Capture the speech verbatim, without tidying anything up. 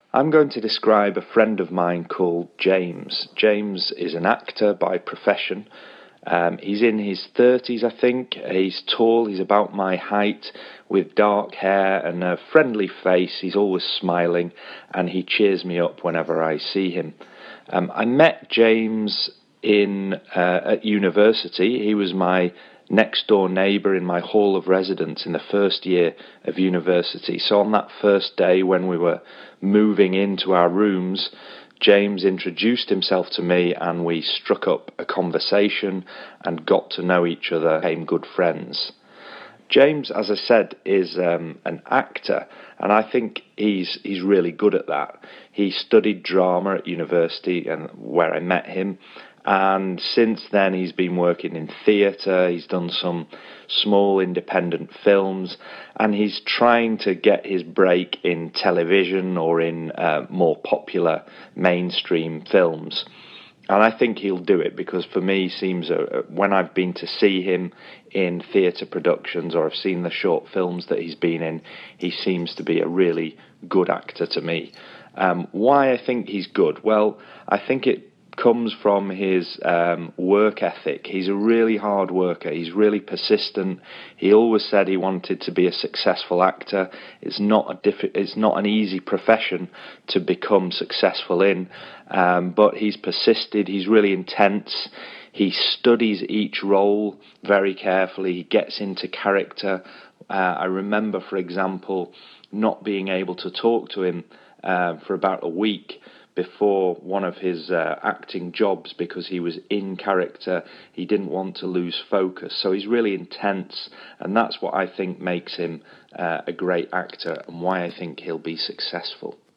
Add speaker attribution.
Speaker 1: I'm going to describe a friend of mine called James. James is an actor by profession. Um, he's in his thirties, I think. He's tall, he's about my height, with dark hair and a friendly face. He's always smiling, and he cheers me up whenever I see him. Um, I met James in uh, at university. He was my next door neighbour in my hall of residence in the first year of university. So on that first day when we were moving into our rooms, James introduced himself to me and we struck up a conversation and got to know each other, became good friends. James, as I said, is um, an actor, and I think he's he's really good at that. He studied drama at university, and where I met him, and since then he's been working in theatre. He's done some small independent films, and he's trying to get his break in television or in uh, more popular mainstream films. And I think he'll do it because for me, he seems uh, when I've been to see him in theatre productions or I've seen the short films that he's been in, he seems to be a really good actor to me. Um, why I think he's good? Well, I think it comes from his um, work ethic. He's a really hard worker. He's really persistent. He always said he wanted to be a successful actor. It's not a diff- It's not an easy profession to become successful in, um, but he's persisted. He's really intense. He studies each role very carefully. He gets into character. Uh, I remember, for example, not being able to talk to him uh, for about a week before one of his uh, acting jobs because he was in character. He didn't want to lose focus. So he's really intense, and that's what I think makes him uh, a great actor and why I think he'll be successful.